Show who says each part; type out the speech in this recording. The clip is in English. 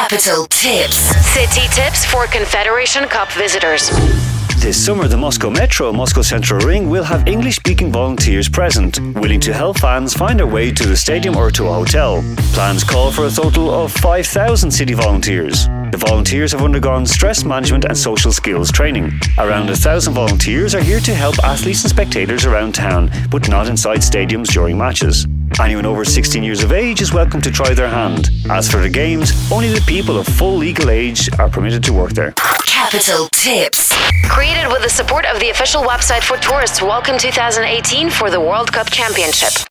Speaker 1: Capital Tips.
Speaker 2: City tips for Confederation Cup visitors.
Speaker 3: This summer, the Moscow Metro, Moscow Central Ring will have English-speaking volunteers present, willing to help fans find their way to the stadium or to a hotel. Plans call for a total of 5,000 city volunteers. The volunteers have undergone stress management and social skills training. Around 1,000 volunteers are here to help athletes and spectators around town, but not inside stadiums during matches. Anyone over 16 years of age is welcome to try their hand. As for the games, only the people of full legal age are permitted to work there.
Speaker 1: Capital Tips.
Speaker 2: Created with the support of the official website for tourists. Welcome 2018 for the World Cup Championship.